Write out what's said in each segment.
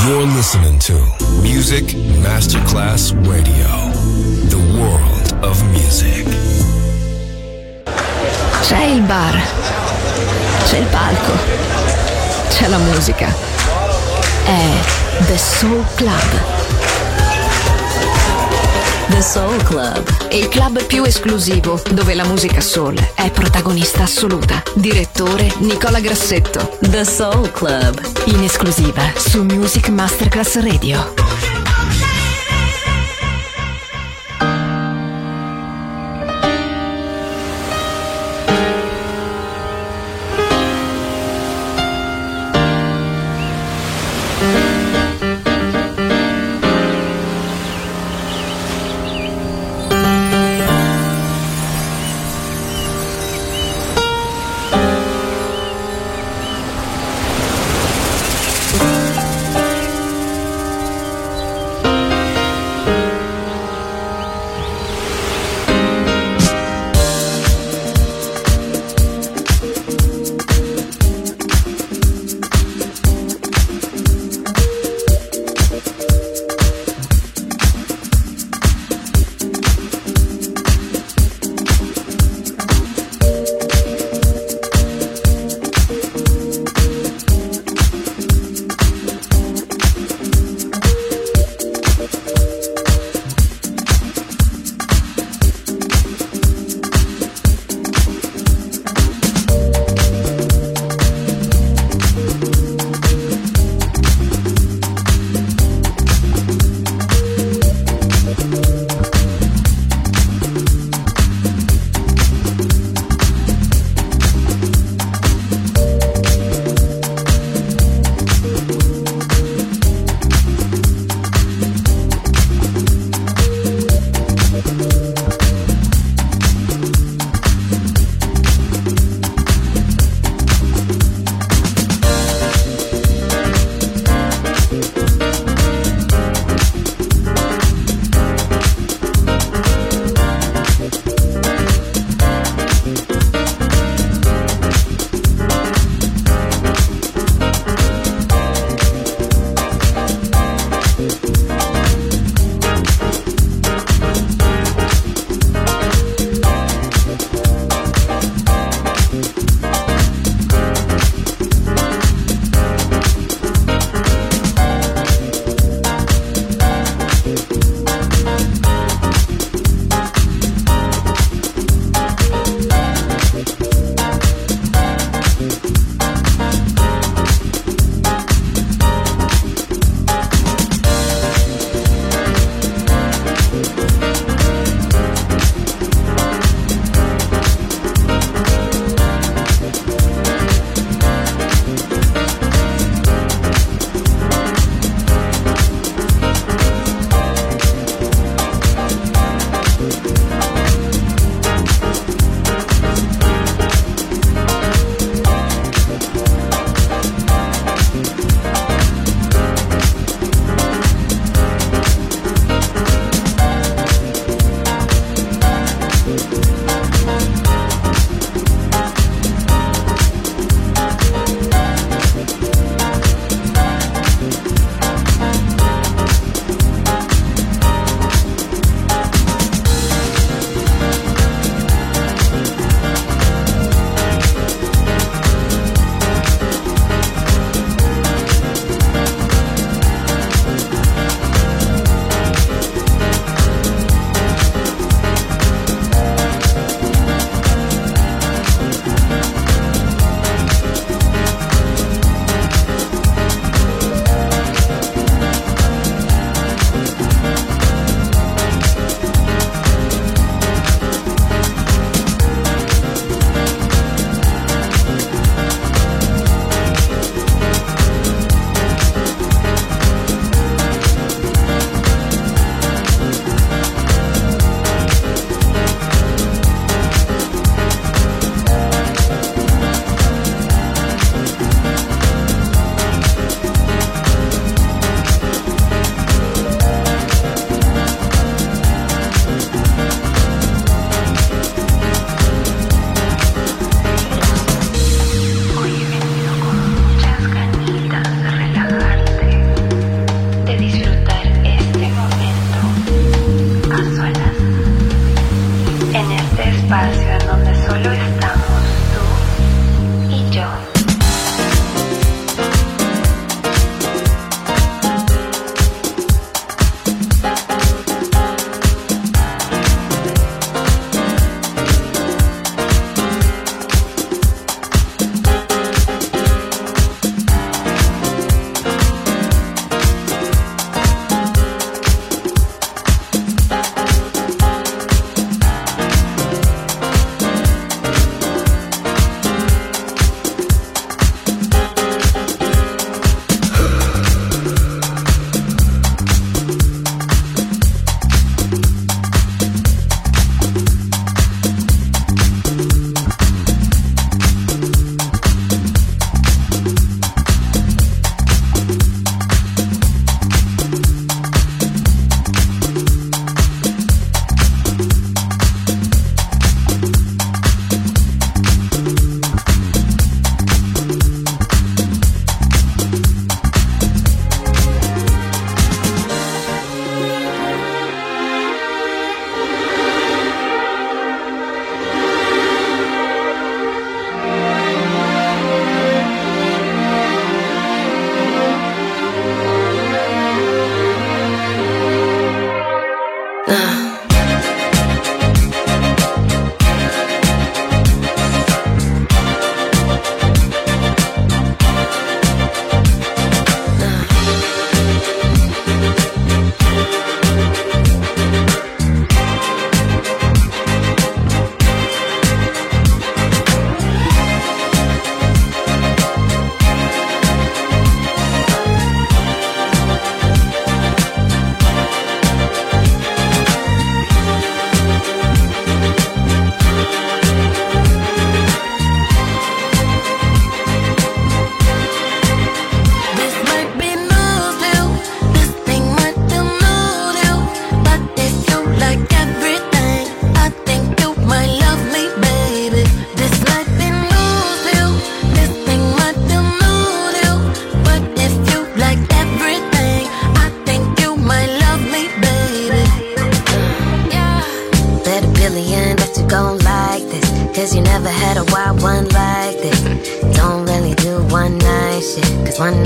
You're listening to Music Masterclass Radio, the world of music. C'è il bar, c'è il palco, c'è la musica. È The Soul Club. The Soul Club, il club più esclusivo dove la musica soul è protagonista assoluta. Direttore Nicola Grassetto. The Soul Club, in esclusiva su Music Masterclass Radio.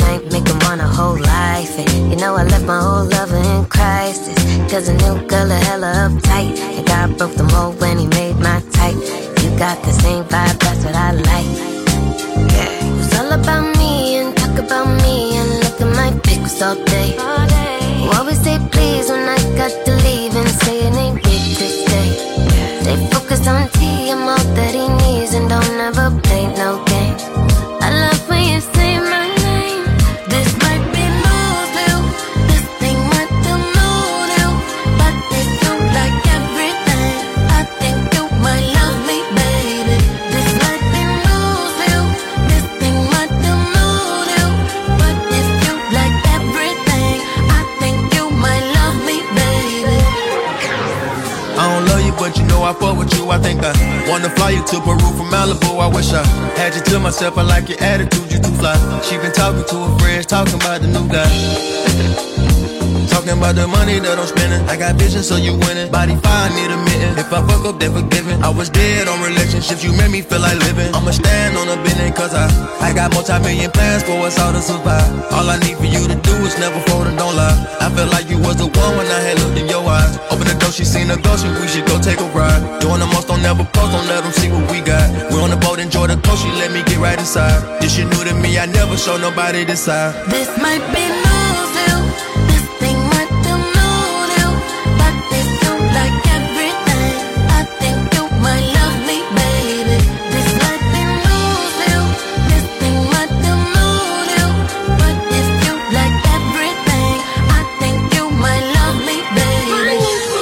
ain't make him want a whole life. And you know I left my whole lover in crisis, cause a new girl a hella uptight, and God broke the mold when he made my type. You got the same vibe, that's what I like. Yeah, it's all about me and talk about me and look at my pics all day. You always say please when I got to leave and say it ain't big to stay. Stay focused on T, I'm all that he needs and don't ever play no games. I love when you say my name. This might be Louisville, this ain't what the mood is, but they do like everything. I think you might love me, baby. This might be Louisville, this ain't what the mood is, but if you like everything, I think you might love me, baby. I don't love you, but you know I fuck with you. I think I wanna fly you to Peru from Malibu. I wish I had you to myself. I like your attitude, you too fly. She been talking to her friends, talking about the new guy. Talking about the money that I'm spending. I got vision, so you winning. Body fine, need a mitten. If I fuck up, then forgiven. I was dead on relationships, you made me feel like living. I'ma stand on a building, cause I got multi-million plans for us all to survive. All I need for you to do is never fold and don't lie. I felt like you was the one when I had looked in your eyes. Open the door, she seen a ghost, and we should go take a ride. Doing the most, don't never post, don't let them see what we got. We're on the boat, enjoy the coast, she let me get right inside. This shit new to me, I never show nobody this side. This might be Louisville, this ain't what the mood is, but they do like everything. I think you might love me, baby. This might be Louisville, this ain't what the mood is, but if you like everything, I think you might love me, baby.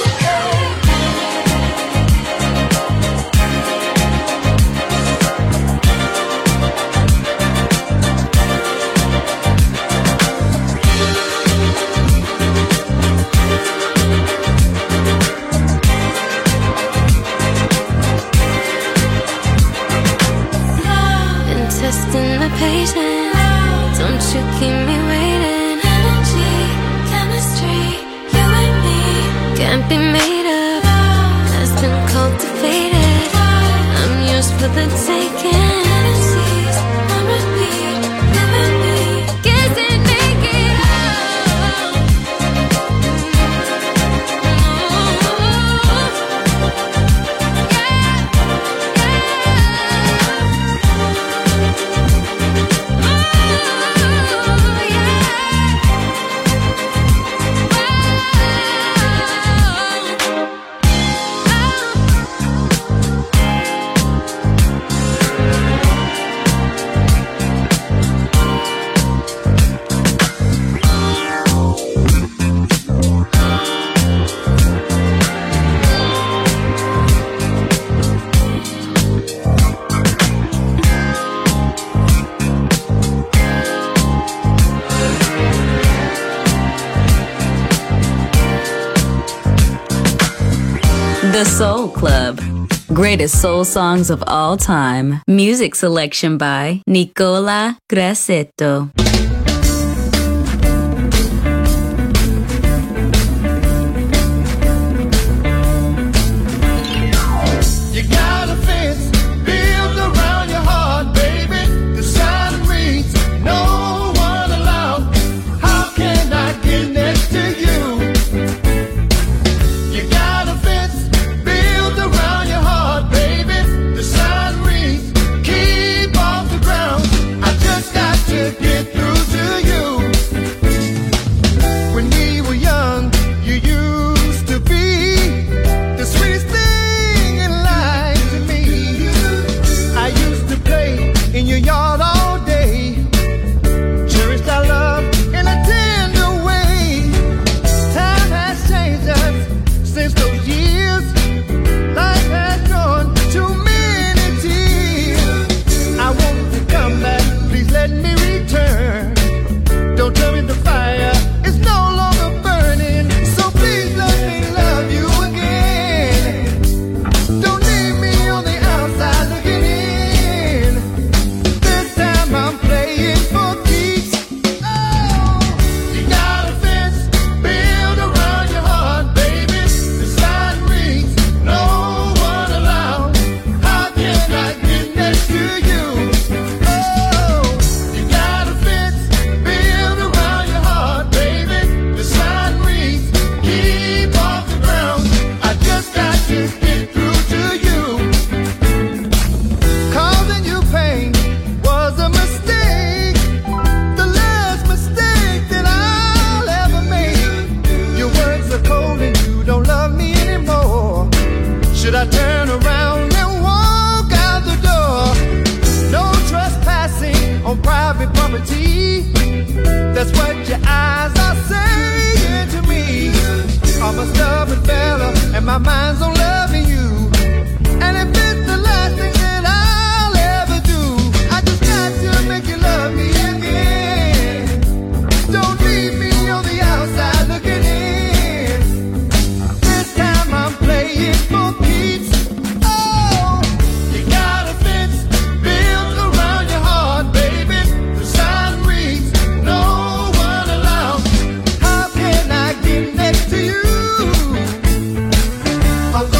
Been testing my patience, don't you keep me waiting. Energy, chemistry, you and me can't be made up, has been cultivated. I'm yours for the taking. Fantasies on repeat, living me, kissing naked. The Soul Club. Greatest soul songs of all time. Music selection by Nicola Grassetto. You got a fence built around your heart, baby. The sign reads, no one allowed. How can I get next to you? You got a fence built around your heart, baby. The sign reads, keep off the ground. I just got to get through. That's what your eyes are saying to me. I'm a stubborn fella and my mind's on loving you. And if it's the last thing that I'll ever do, I just got to make you love me again. Don't leave me on the outside looking in. This time I'm playing for keeps. Oh, you got a fence built around your heart, baby. The sign reads, no one allowed. How can I get next to you? I'm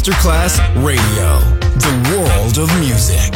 Masterclass Radio, the world of music.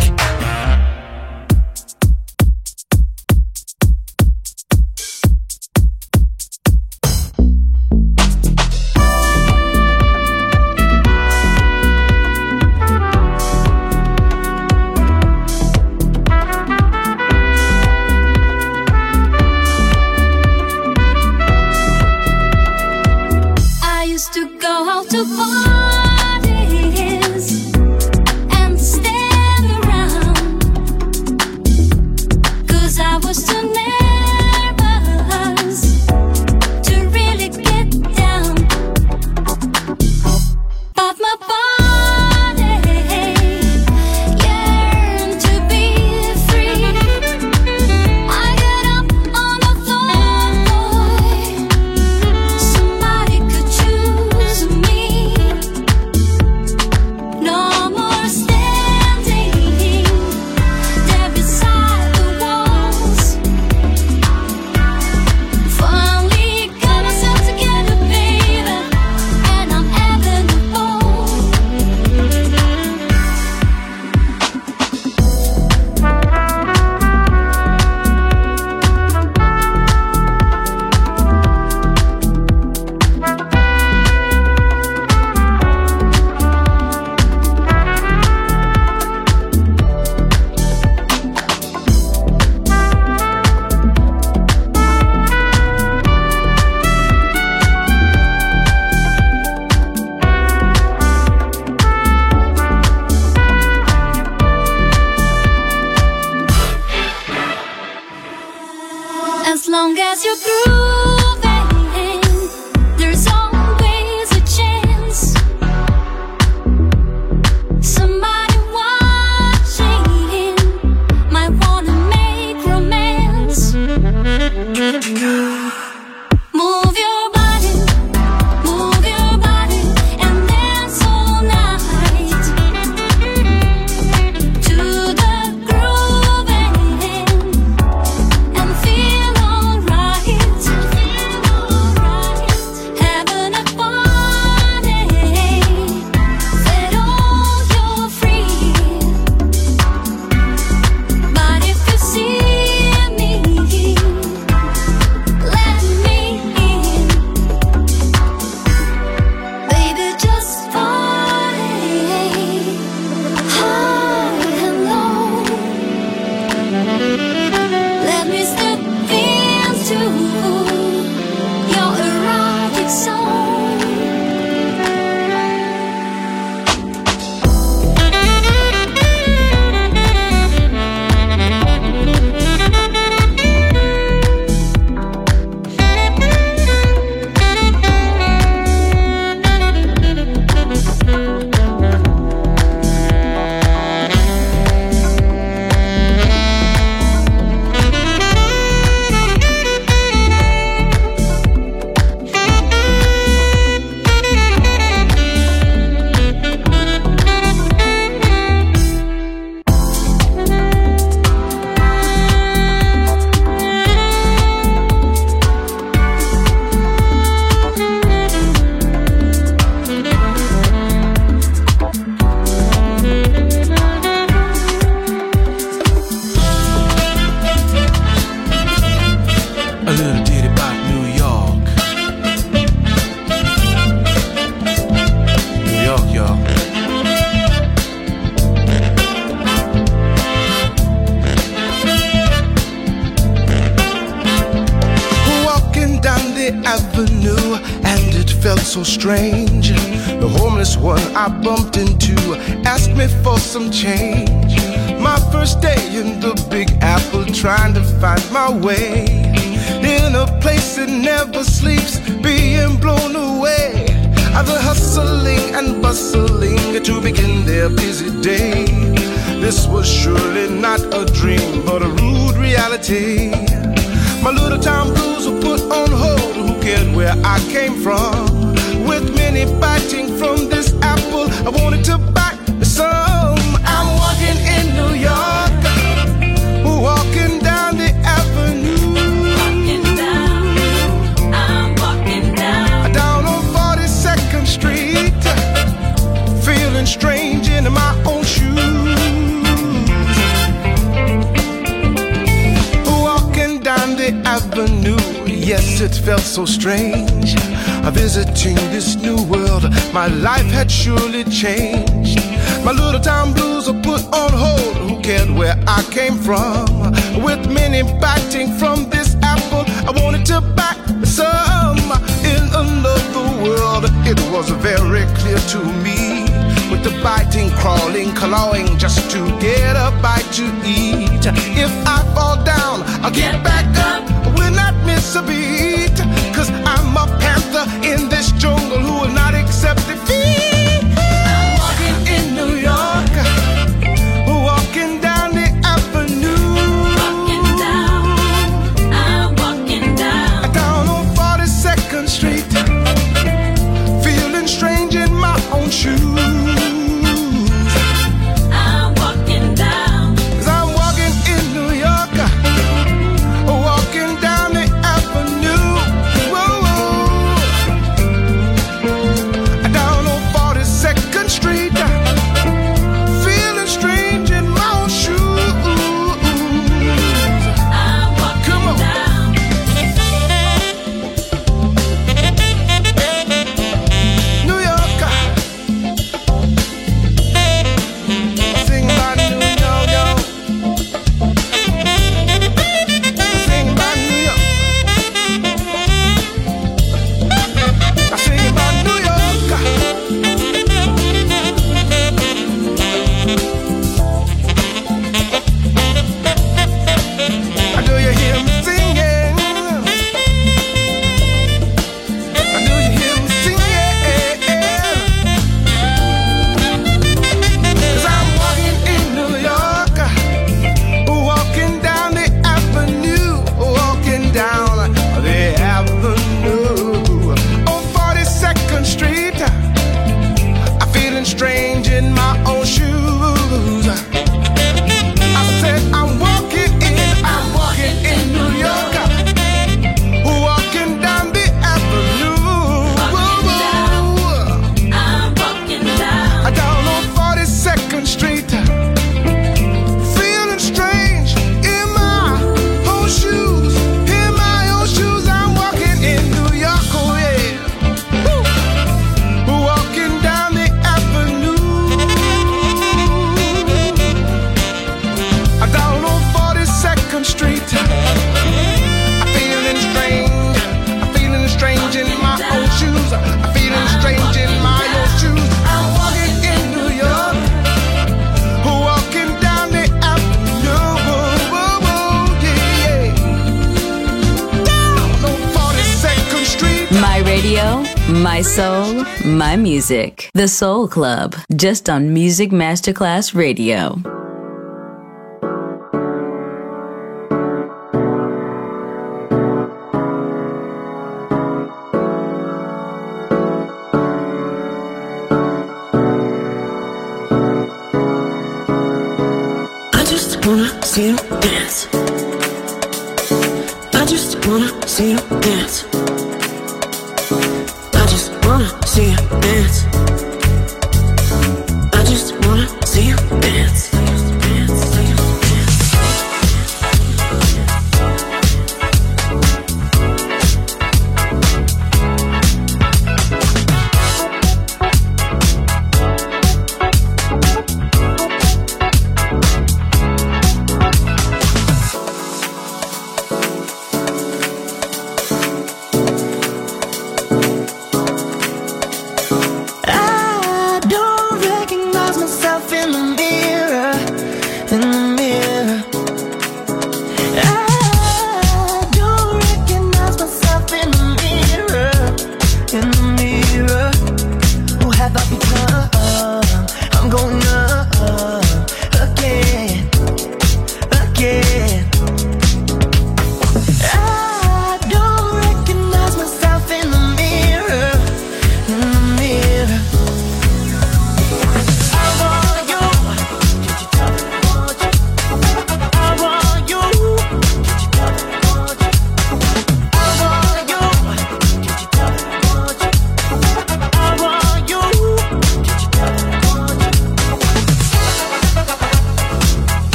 Avenue, and it felt so strange. The homeless one I bumped into asked me for some change. My first day in the Big Apple, trying to find my way in a place that never sleeps, being blown away. Other hustling and bustling to begin their busy day. This was surely not a dream, but a rude reality. My little town blues were put on hold. Who cared where I came from? With many biting from this apple, I wanted to bite some. I'm walking in New York, walking down the avenue. I'm walking down on 42nd Street, feeling the avenue. Yes, it felt so strange. Visiting this new world, my life had surely changed. My little town blues are put on hold. Who cared where I came from? With many biting from this apple, I wanted to bite some. In another world, it was very clear to me. With the biting, crawling, clawing, just to get a bite to eat. If I fall down, I'll get back up. Will not miss a beat. 'Cause I'm a panther in this jungle who will not accept defeat. I'm walking in New York, walking down the avenue. Walking down, I'm walking down. Down on 42nd Street, feeling strange in my own shoes. My soul, my music. The Soul Club, just on Music Masterclass Radio. I just wanna see you dance. I just wanna see you dance. I just wanna see you dance. I just wanna see you dance. I don't recognize myself in the mirror.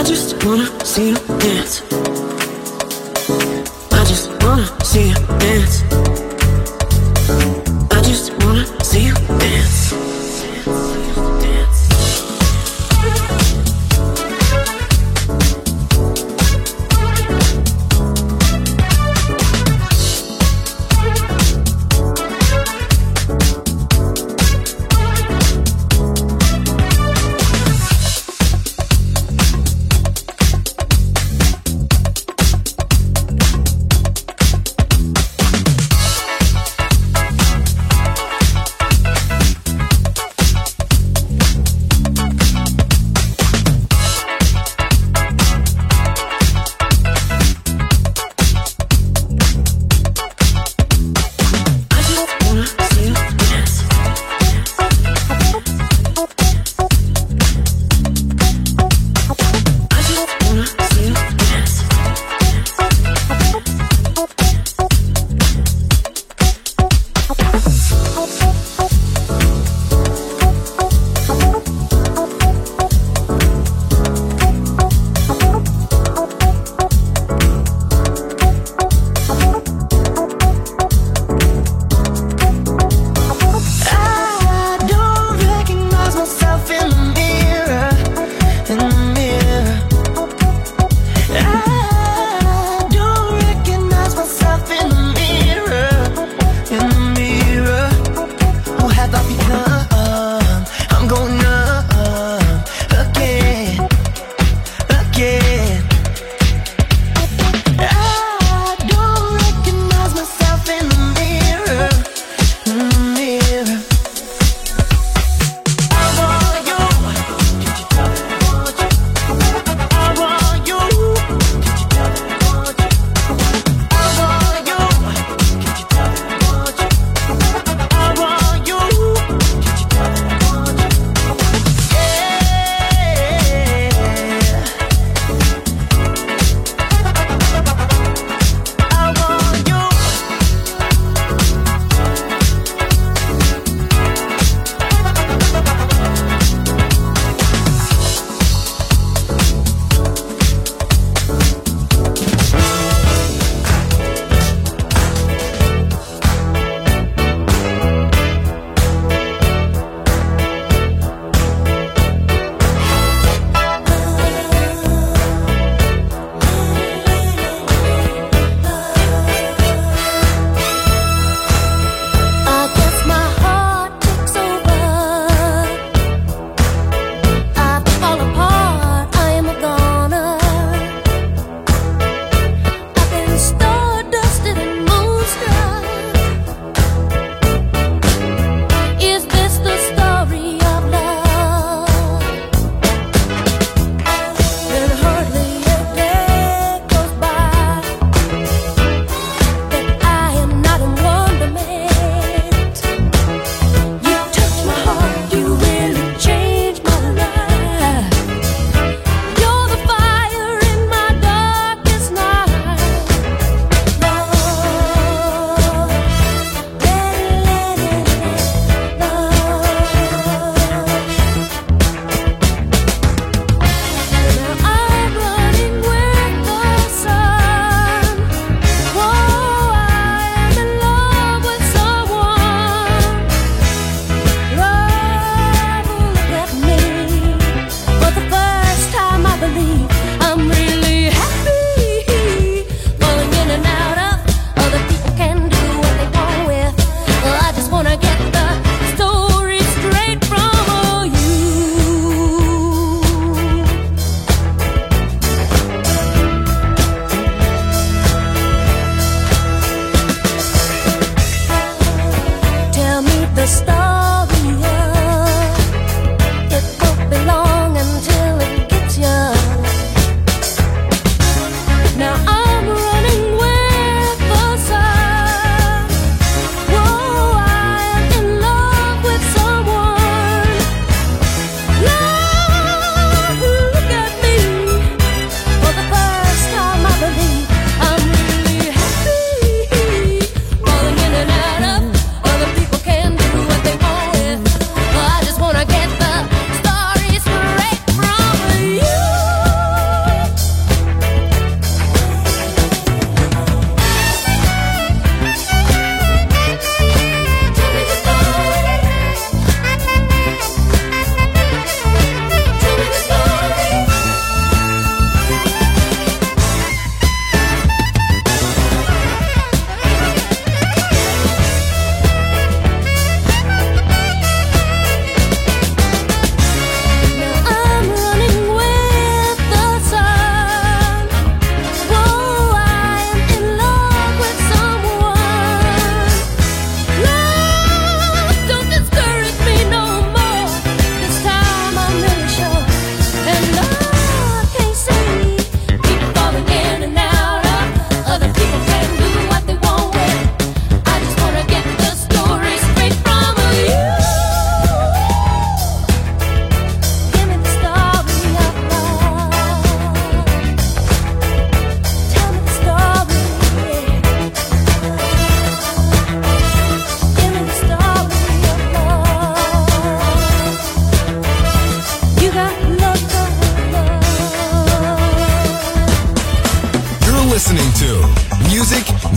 I just wanna see you dance. I just wanna see you dance. I just wanna see you dance.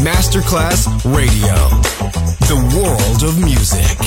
Masterclass Radio. The world of music.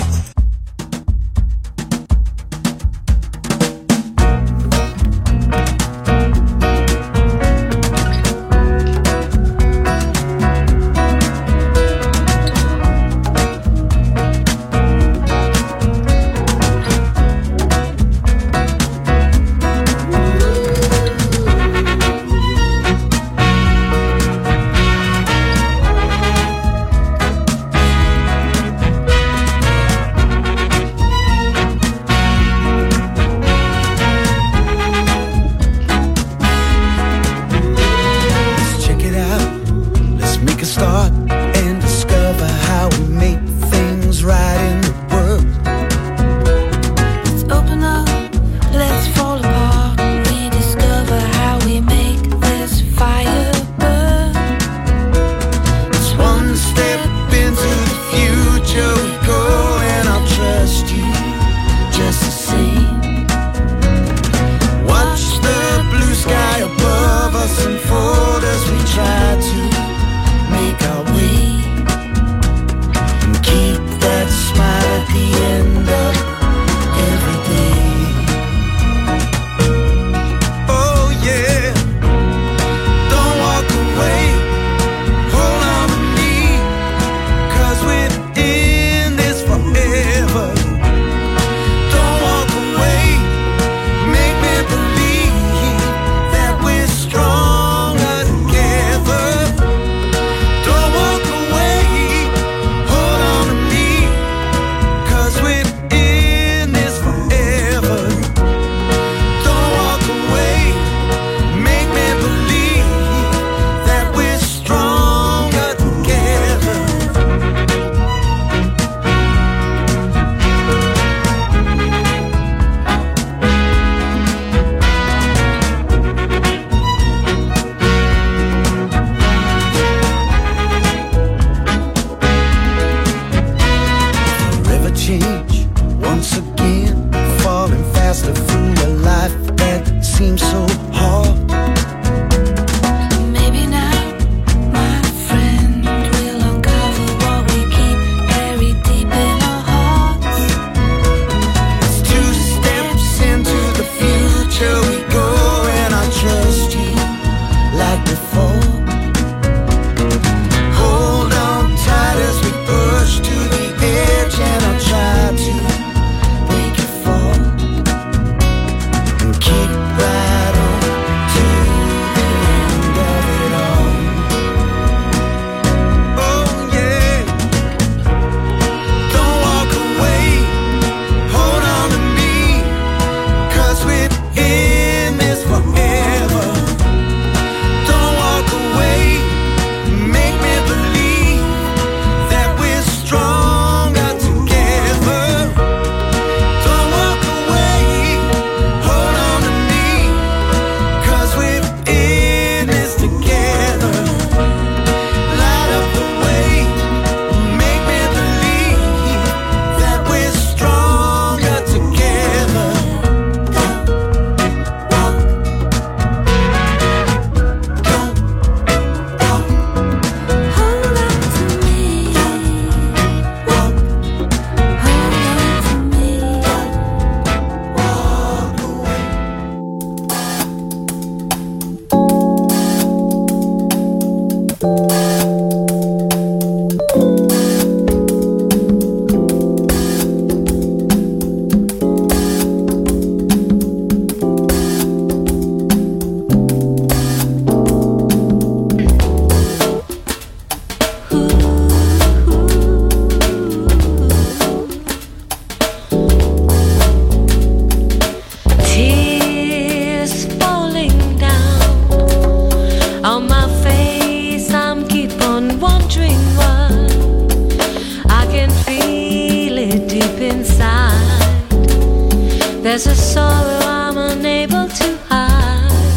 There's a sorrow I'm unable to hide.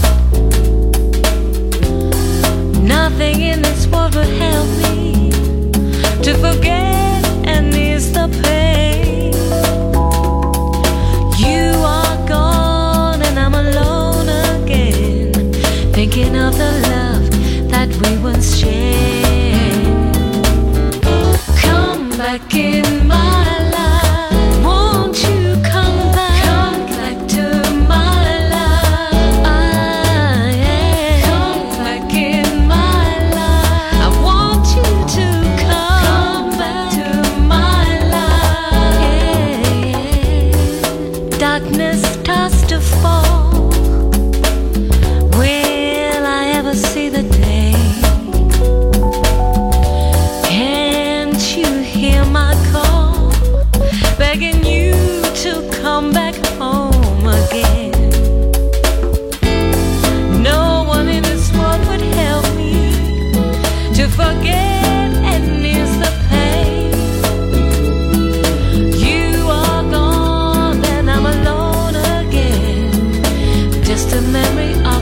Nothing in this world will help me to forget and ease the pain. You are gone and I'm alone again, thinking of the love that we once shared.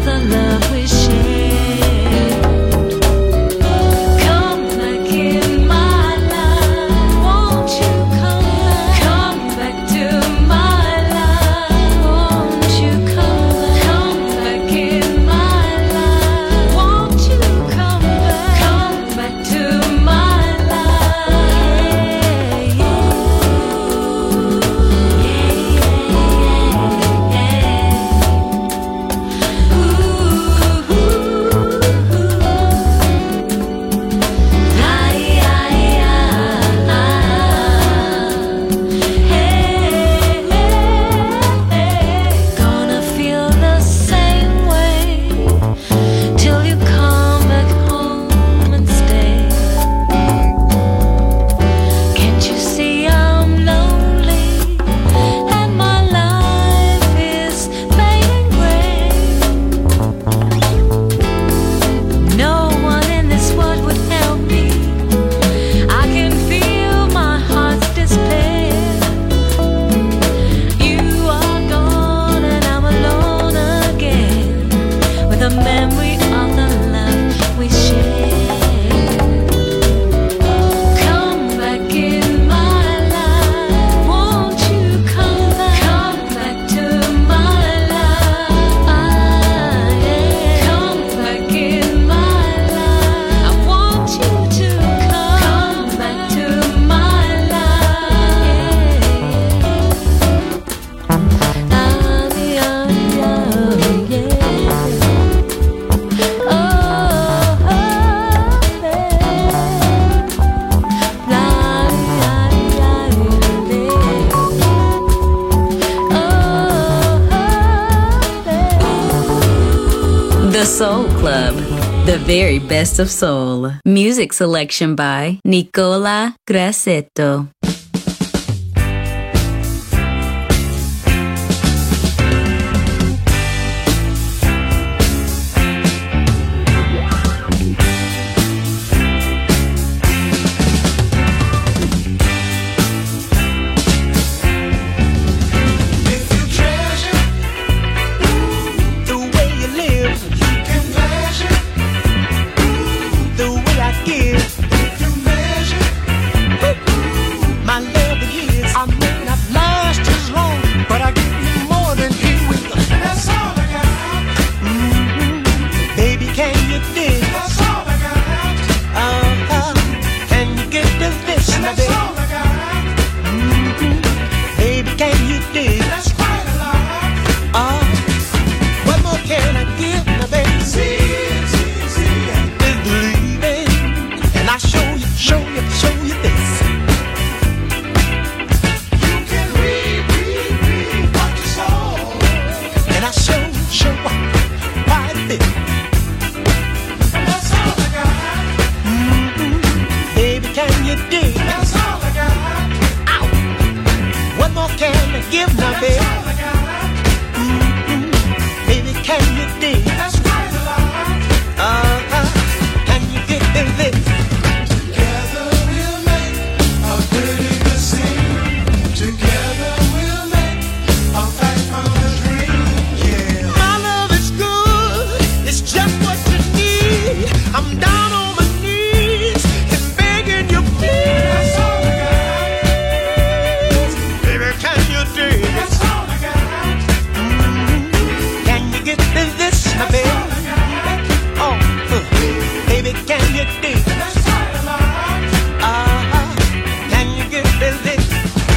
the love we shared. Come back in my life, won't you come back? Come back to my life, won't you come back? Come back in my life, won't you come back? Come back to my life. Gonna feel the same way till you come back home and stay. Can't you see I'm lonely and my life is fading gray? No one in this world would help me. I can feel my heart's despair. You are gone and I'm alone again with a memory of the love we shared. Come back in my life, won't you come back? Come back to my life. Come back in my life, I want you to come back to my life. The Soul Club, the very best of soul. Music selection by Nicola Grassetto. If you treasure the way you live, you can measure the way I give. If you measure my love in years, I may not last as long, but I give you more than you will. That's all I got. Baby, can you dig? That's all I got. Can you get to this? That's all I got. Baby, can you dig? That's quite a lot. What more can I give now, baby? See, is believing, and I show you this. You can read what you saw, and I show why it fit. That's all I got. Baby, can you dig? That's all I got. Ow. What more can I give now, baby? That's all I got. Baby, can you dig? That's quite a lot. Can you get this? Together we'll make a pretty good scene. Together we'll make a fight for the dream. Yeah. My love is good. It's just what you need. I'm down on my knees and begging you, please. That's all I got. Baby, can you dig? That's all I got. Can you get this, my baby? Oh, baby, can you dig? That's quite a lot. Can you get this?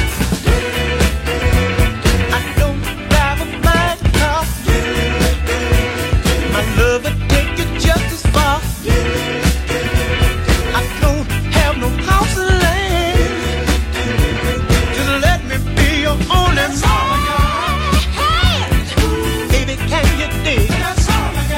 I don't drive a fast car. My love will take you just as far. I don't have no house or land. Just let me be your only man. Baby, can you dig? That's all I got.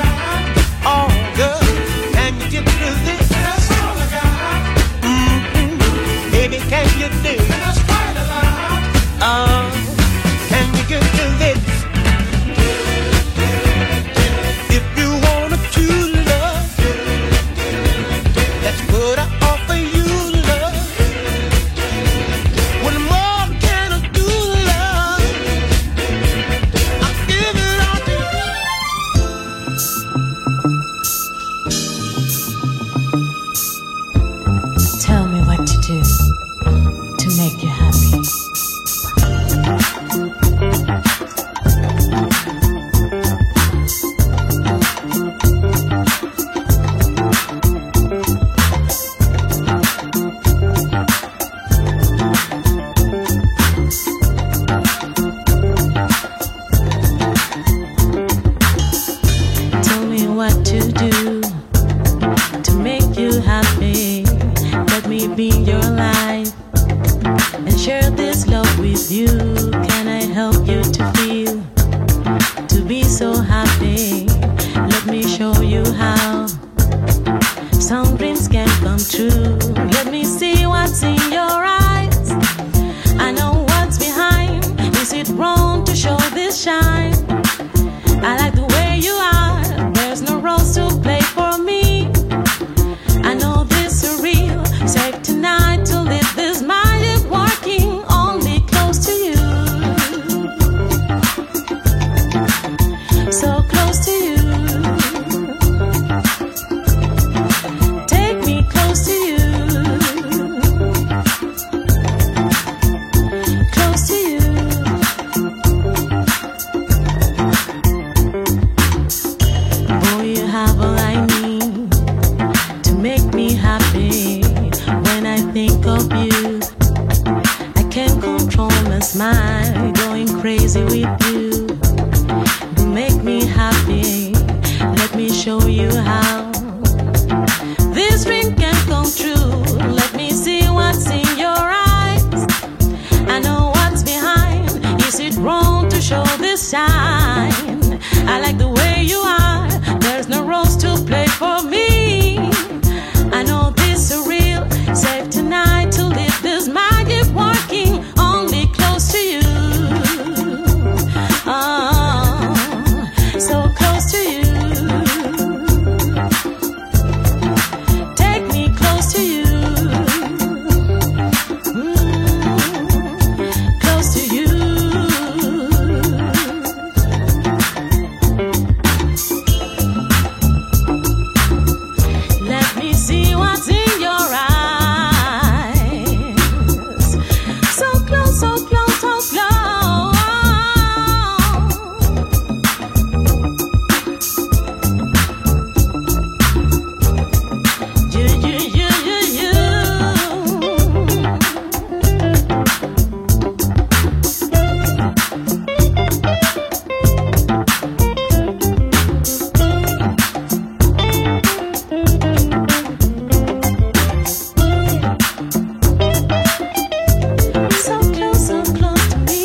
what to do to make you happy. Let me be your life and share this love with you. Can I help you to feel, to be so happy? Let me show you how some dreams can come true. Let me see what's in your eyes. I know what's behind. Is it wrong to show this shine? I like the way you are. There's no rules to play for me. I know this is real. Safe tonight to live this magic working only close to you. So close to you. Take me close to you. Close to you. Boy, you have all I need to make me happy. When I think of you, I can't control my smile. Going crazy with you. You make me happy. Let me show you how this dream can come true. Let me see what's in your eyes. I know what's behind. Is it wrong to show this sign? I like the way you are. There's no rules to play for me. I know this is real. Safe tonight to live this magic working only close to you. Oh, so close to you. Take me close to you. Close to you. Let me see what's in your eyes. So close, so close, so close. You. So close to me.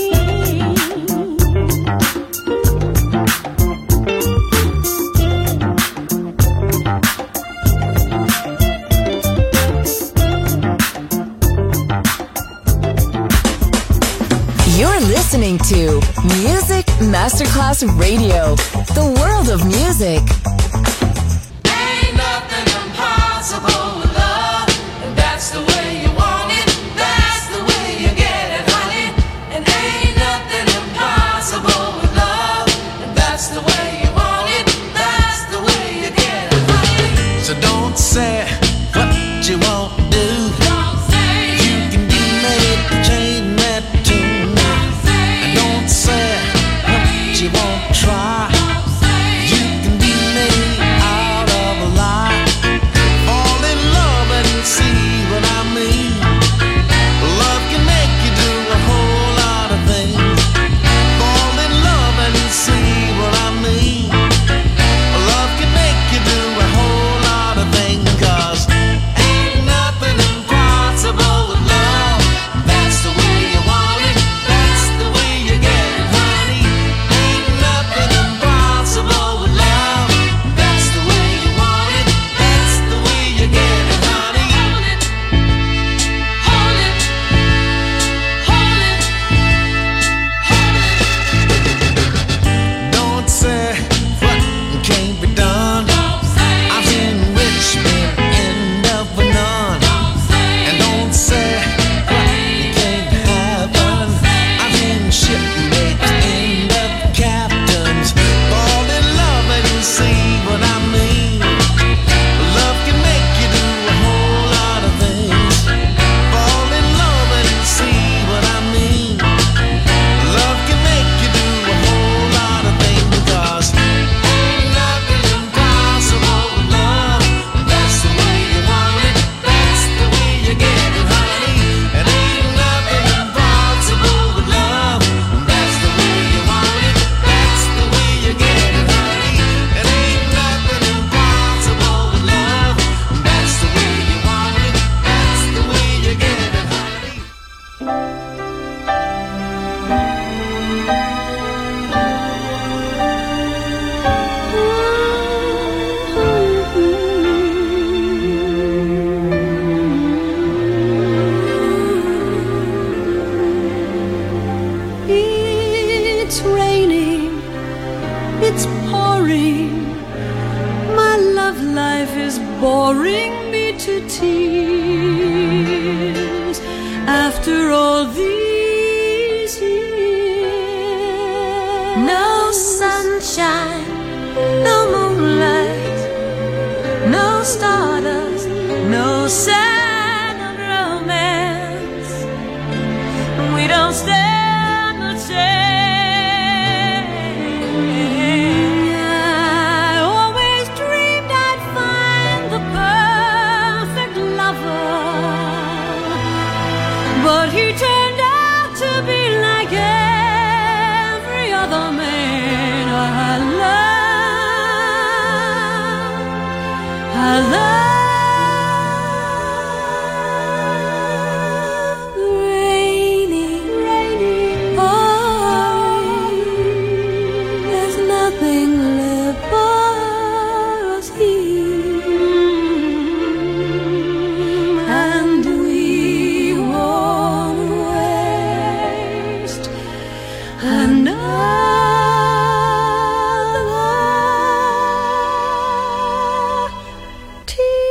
You're listening to Music Masterclass Radio, the world of music. Ain't nothing impossible with love, and that's the way you want it, that's the way you get it, honey. And ain't nothing impossible with love, and that's the way you want it, that's the way you get it, honey. So don't say what you won't do. Don't say You can do it, change that tune. Don't say what you won't try. don't say You can do it, after all these years. No sunshine, no moonlight, no stardust, no sign of romance. We don't stand a chance. I always dreamed I'd find the perfect lover, but he turned out to be like every other man I love. Rainy, there's nothing left for us here, and we won't waste another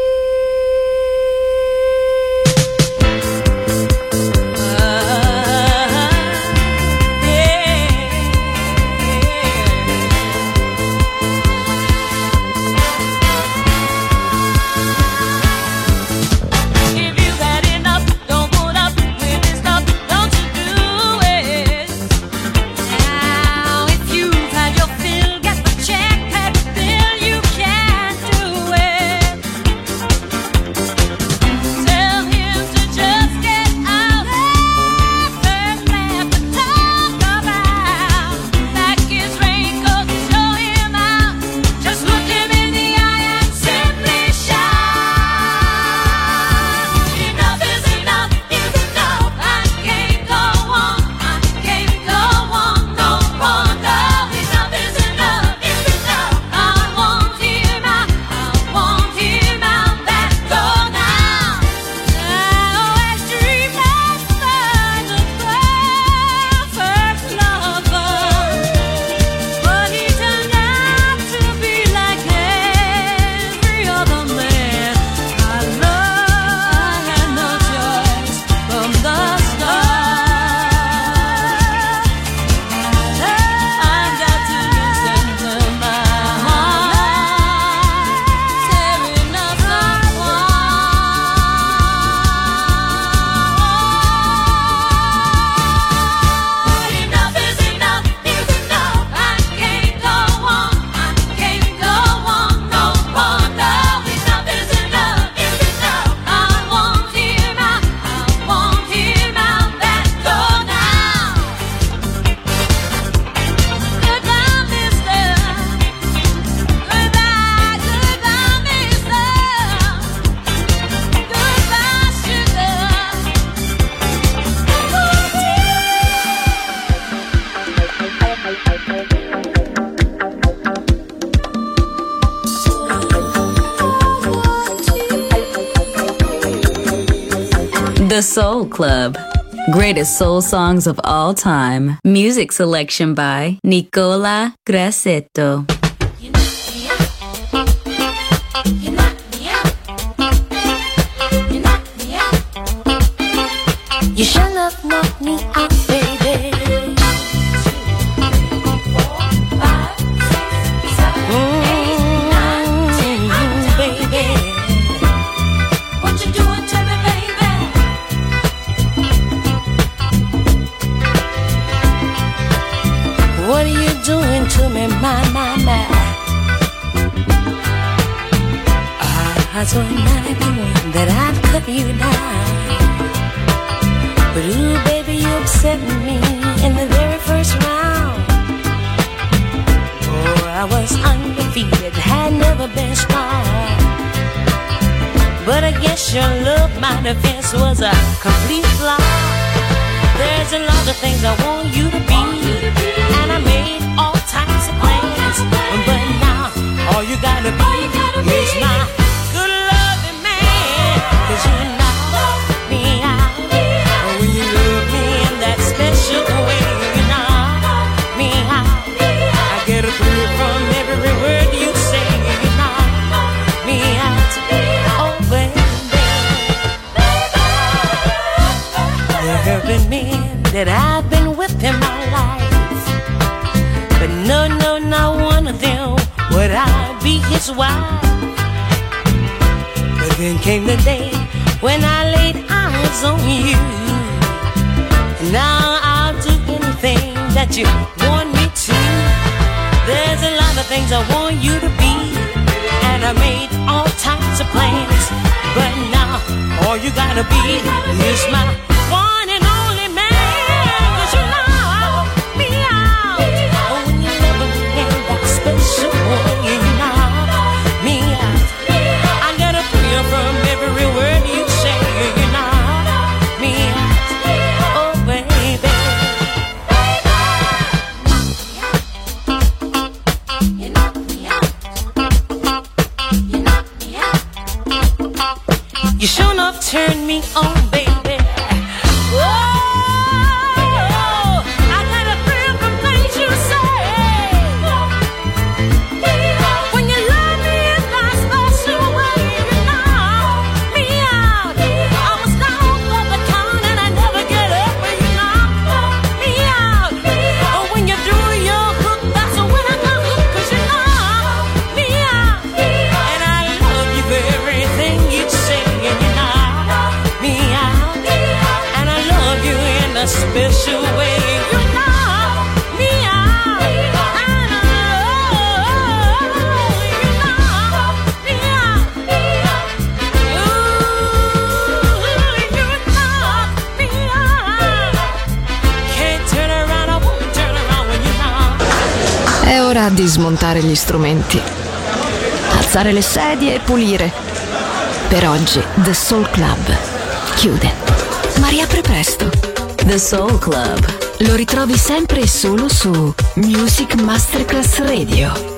If you've had enough, don't put up with this stuff, don't you do it. Now, if you've had your fill, get the check, pay the bill, you can't do it. Tell him to just get out. There's left to talk about. Pack his raincoat, show him out. Just look him in the eye and simply shout. Enough is enough, is enough. I can't go on, I can't go on no more. No, enough is enough, is enough. I want him out, that door now. I always dreamed I'd find the perfect lover, but he turned out to be like every other man I love. I had no choice from the start. I've got to listen to my heart tearing us apart. Enough is enough, is enough. I can't go on, I can't go on no more. No, enough is enough, is enough. I want him out, that door now. Goodbye, mister. Goodbye, goodbye, mister. Goodbye, sugar. The Soul Club. Greatest soul songs of all time. Music selection by Nicola Grassetto. You should have knocked me out, baby. Baby. What you doing to me, baby? What are you doing to me, my? I told 91 that I'd cut you down, but ooh, baby, you upset me in the very first round. Oh, I was undefeated, had never been strong, but I guess your love, my defense was a complete flop. There's a lot of things I want you to be, and I made all types of plans, but now all you gotta be is my good loving man. 'Cause you knock me out when you love me in that special way. You knock me out, I get a thrill from every word you say. You knock me out, oh baby. his wife. But then came the day when I laid eyes on you. And now I'll do anything that you want me to. There's a lot of things I want you to be, and I made all types of plans. But now all you gotta be is my one and only man. 'Cause you know me out. Oh, when you love me in that special way, you know me out. I get a thrill from every word you say, you know me out. Oh, baby. You knock me out. You knock me out. You sure enough turned me on, baby. Oh, I got a thrill from things you say. When you love me in that special way, you knock me out. I was down for the count and I never get up when you knock me out. Oh, when you do your hook, that's when I come hook, 'cause you knock me out. And I love you for everything you say, and you knock me out. And I love you in a special way, you knock me out. And I love you, knock me out. Ooh, you knock me out. Can't turn around, I won't turn around when you knock. È ora di smontare gli strumenti, alzare le sedie e pulire. Per oggi The Soul Club chiude, ma riapre presto. The Soul Club lo ritrovi sempre e solo su Music Masterclass Radio.